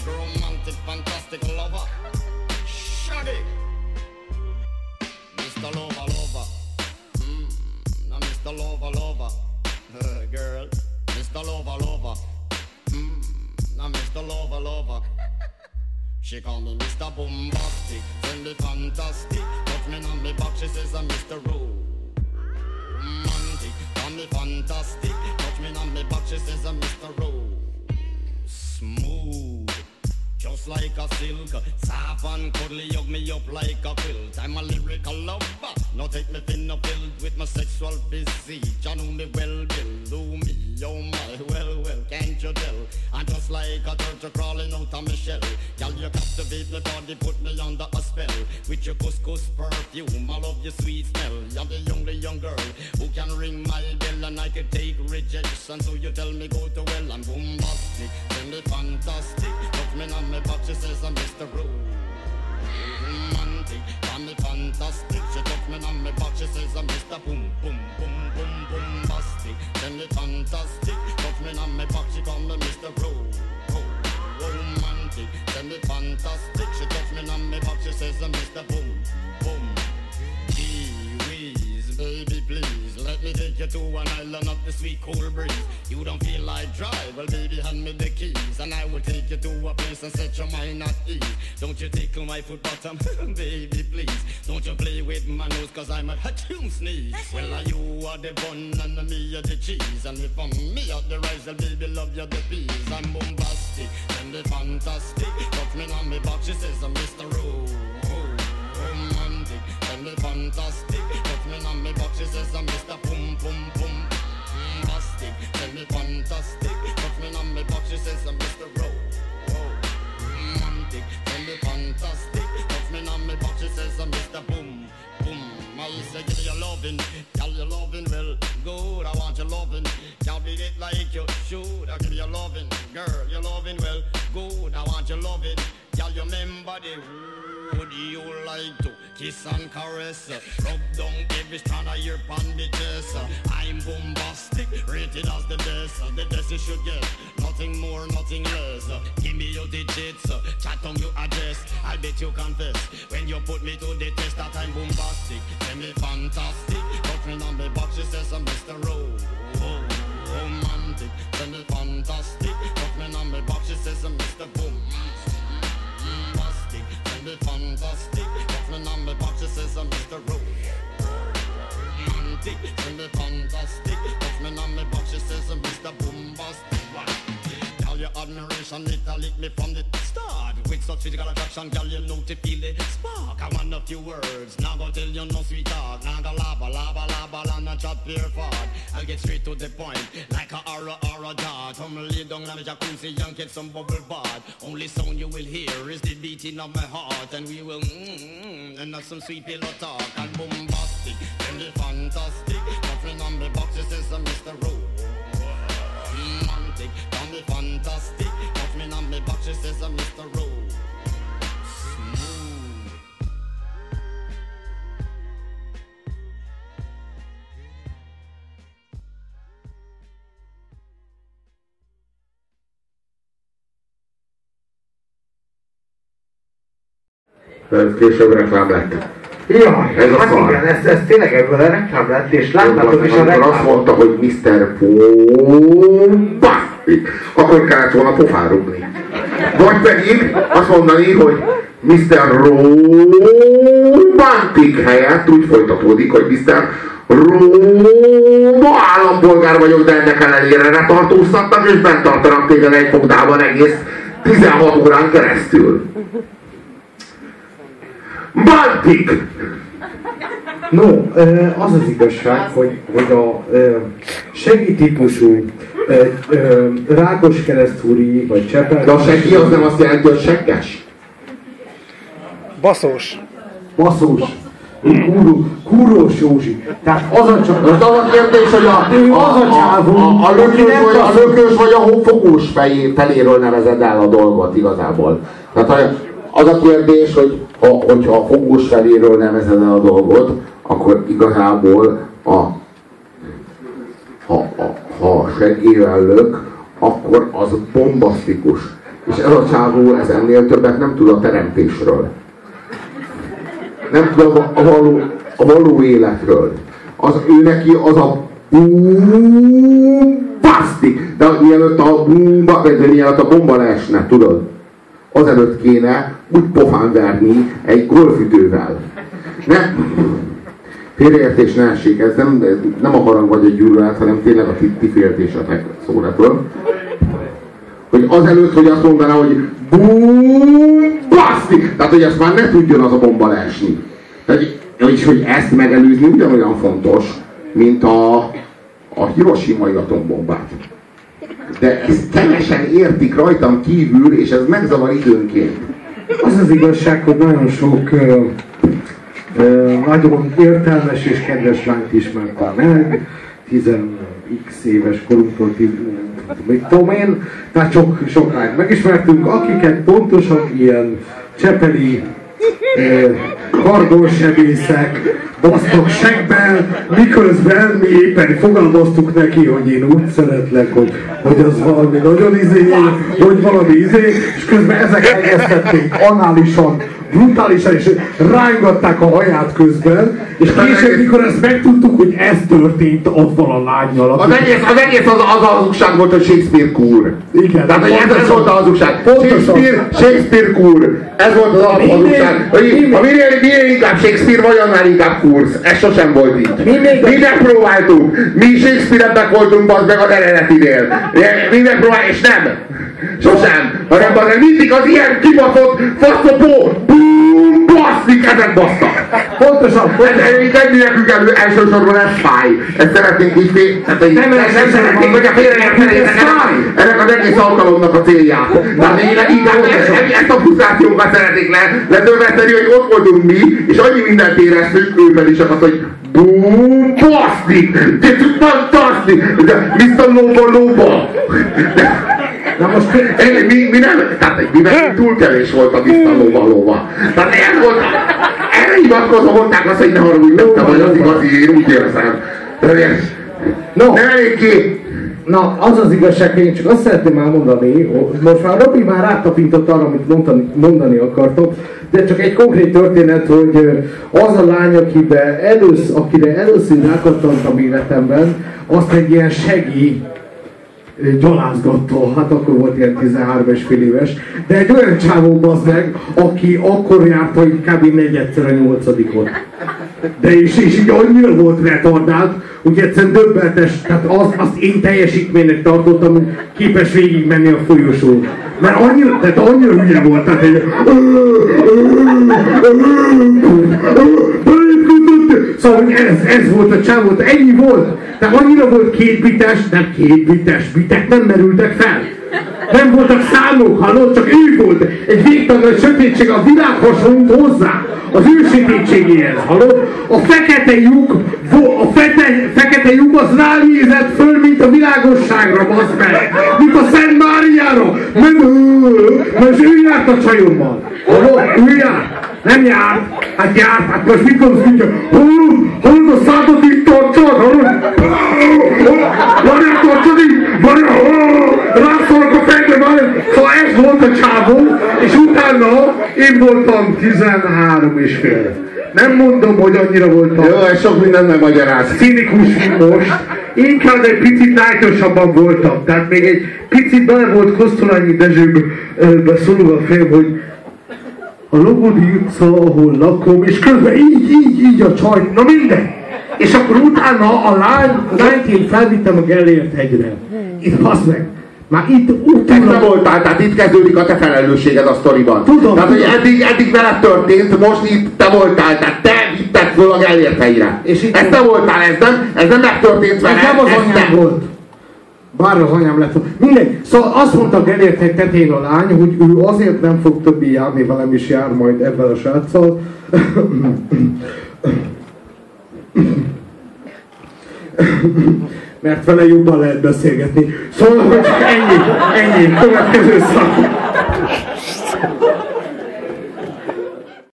Mr. Romantic, fantastic lover. Shaggy. Mr. Lover, lover. Now Mr. Lover, lover. Girl. Mr. Lover, lover. Now Mr. Lover, lover. She call me Mr. Bombastic, send me fantastic. Touch me on me back, she says I'm Mr. Romantic. Call me fantastic, touch me on me back, she says I'm Mr. Smooth, just like a silk. Soft and cuddly, hug me up like a quilt. I'm a lyrical lover, now take me thin up filled with my sexual physique. You know me well, Bill, do me, oh my, well, can't you tell? I'm just like a turtle crawling out of my shell. Girl, you captivate my body, put me under a spell. With your couscous perfume, I love your sweet smell. You're the only young girl who can ring my bell, and I can take rejection. So you tell me go to well, I'm bombastic, send me fantastic. Touch me on my back, she says I'm Mr. Romantic. Call me fantastic, she touch me on my back, she says I'm Mr. Boom, boom, boom, boom, bombastic. Send me fantastic, touch me on my back, she call me Mr. Romantic. Send me fantastic, she touch me on my back, she says I'm Mr. Boom, boom. Gee-whiz, baby please, let me take you to an island of the sweet cool breeze. You don't feel like drive, well baby hand me the keys, and I will take you to a place and set your mind at ease. Don't you tickle my foot bottom, baby please. Don't you play with my nose, cause I'm a hatchoon sneeze. Well you are the bun and me are the cheese, and if I'm me are the rice, well baby love you the peas. I'm bombastic, and the fantastic. Touch me on me back, she says I'm Mr. Romantic. And the fantastic. Touch me on me back, she says I'm Mr. Boom Boom Boom. Fantastic. And the fantastic. Touch me on me back, she says I'm Mr. Romantic. And the fantastic. Touch me on me back, she says I'm Mr. Boom Boom. I say give me your loving, tell your loving well good. I want your loving, can't beat it like you should. I give you your loving, girl, your loving well good. I want your loving, tell your remember the would you like to kiss and caress, rub down every strand of your bandages. I'm bombastic, rated as the best you should get, nothing more, nothing less. Give me your digits, chat on your address, I'll bet you confess when you put me to the test that I'm bombastic. Tell me fantastic, touch me on the box, she says I'm Mr. Romantic. Tell me fantastic, touch me on the box, she says I'm Mr. Bombastic. Tell me fantastic, touch me on the box, she says I'm Mr. Romantic. Tell me fantastic, touch me on the box, she says I'm Mr. Bombastic. Your admiration, it lit me from the start. With such physical attraction, girl, you know to feel the spark. I want a few words, now go tell you no sweet talk. Now go laba, and not chat pure fart. I'll get straight to the point, like a aura dart. Come lay down on the jacuzzi and get some bubble bath. Only sound you will hear is the beating of my heart. And we will and have some sweet pillow talk. And bombastic, and the fantastic. Nothing on the box, it says Mr. Romantic. Call me fantastic, touch me on me back, she says I'm Mr. Smooth. Ez később reklám lett. Jaj, ez hát igen, ez tényleg ebből a reklám lett, és láttátok is a reklámot. Azt mondta, hogy Mr. Bombastic, akkor kellett volna pofán rúgni. Vagy pedig azt mondani, hogy Mr. Romantic helyett úgy folytatódik, hogy Mr. Roma állampolgár vagyok, de ennek ellenére letartóztatnak, és bent tartanak téged egy fogdában egész 16 órán keresztül. Baltic! No, az az igazság, hogy a seggi típusú Rákoskeresztúri vagy Csepel... De a seggi az nem azt jelenti, hogy segges? Baszós. Kúrós Józsi. Tehát az a csak... Az a kérdés, hogy a lökős vagy a fogós feléről nevezed el a dolgot igazából. Tehát az a kérdés, hogy hogyha a fogós feléről nevezed el a dolgot, akkor igazából ha seggével lök, akkor az bombasztikus. És ez a csávó ez ennél többet nem tud a teremtésről. Nem tud a való életről. Ő neki az a baszti! De mielőtt a bomba leesne, tudod? Azelőtt kéne úgy pofán verni egy golfütővel. Nem, félreértés ne essék, ez nem a harang vagy egy gyűlölet, hanem tényleg a ti féltésetek szóratól. Hogy azelőtt, hogy azt mondaná, hogy baszti! Tehát, hogy ezt már ne tudjon az a bomba leesni. És hogy ezt megelőzni ugyanolyan fontos, mint a hiroshimai atombombát. De ezt kevesen értik rajtam kívül, és ez megzavar időnként. Az az igazság, hogy nagyon sok nagyon értelmes és kedves lányt ismertem meg, 10x éves korunktól, mit tudom én, tehát sok lányt megismertünk, akiket pontosan ilyen csepeli kardonsebészek basztak segben, miközben mi éppen fogalmaztuk neki, hogy én úgy szeretlek, hogy az valami nagyon hogy valami és közben ezek elkezdték análisan, brutálisan, és rángatták a haját közben, és később, mikor ezt megtudtuk, hogy ez történt azzal a lánnyal. Az egész az hazugság volt, hogy Shakespeare kúr. Igen. Tehát, hogy ez volt a hazugság. Shakespeare kúr. Ez volt az alaphazugság. Ha minél inkább Shakespeare vagy, annál inkább kúrsz. Ez sosem volt így. Mi megpróbáltuk. Mi Shakespeare-ebbek voltunk meg az eredetinél. Mi megpróbáltuk, és nem. Sosem. Hanem mindig az ilyen kibaszott faszopó basszik, ezek basztak. Pontosan. Nem nekünk elsősorban ez fáj. Ezt szeretnénk így nem szeretnénk, hogy a félreértenének ennek az egész alkalomnak a célját. Tehát inkább ezt a frusztrációkat szeretnék letörvetni, hogy ott voltunk mi, és annyi mindent éreztünk, őben is az, hogy basszik, fantasztik, Mr. Loba. Na most mi nem, tehát mivel túl kevés volt a Mr. Loba. Tehát ez volt, erre hivatkozva mondták azt, hogy ne haragudj, nem te vagy az igazi, én úgy érzem. Nem elég ki. Na, az az igazság, hogy én csak azt szeretném elmondani, most már Robi már rátapintott arra, amit mondani akartam, de csak egy konkrét történet, hogy az a lány, akire először rákattantam életemben, azt egy ilyen gyalázgatta, hát akkor volt ilyen 13,5 éves, de egy olyan csávó bazd meg, aki akkor járta, hogy kb. 4-szer a 8-ot. De és így annyira volt retardált, hogy egyszerűen döbbenetes, tehát azt én teljesítménynek tartottam, hogy képes végigmenni a folyosón. Mert annyira hülye volt, tehát egy... Szóval ez volt a csávó, ennyi volt. Tehát annyira volt bitek nem merültek fel. Nem voltak számok, hallott, csak ő volt. Egy végtelen nagy sötétség, a világ hasonlít hozzá. Az ő sötétségéhez, hallott? A fekete lyuk az ránézett föl, mint a világosságra, bazd meg. Mint a Szent Máriára. Most ő járt a csajommal. Hallott? Ő járt. Nem járt. Hát járt. Hát most mit mondsz, hogy hallod a szádot itt tartsad? Várjál, tartsad itt! Rászolok a fejbe, szóval ez volt a csávó, és utána én voltam 13,5. Nem mondom, hogy annyira voltam. Jó, ez sok minden megmagyaráz. Cinikus, mint most. Inkább egy picit lájtosabban voltam. Tehát még egy picit bele volt Kosztolányi Dezsőbe szólva a fejem, hogy a Logodi utca, ahol lakom, és közben így a csaj, na minden. És akkor utána a lányt én felvittem a Gellért hegyre. Itt baszd meg. Már itt utána... Te voltál, tehát itt kezdődik a te felelősséged a sztoriban. Tudom. Tehát, hogy eddig veled történt, most itt te voltál, tehát te vitted föl a Gellért hegyre. Ez te voltál, ez nem megtörtént veled. Ez nem az anyám volt. Bár az anyám lett. Mindegy. Szóval azt mondta a Gellért hegy tetején a lány, hogy ő azért nem fog többi járni, velem is jár majd ebben a sráccal. Mert vele jobban lehet beszélgetni. Szóval, hogy ennyi, következő szak.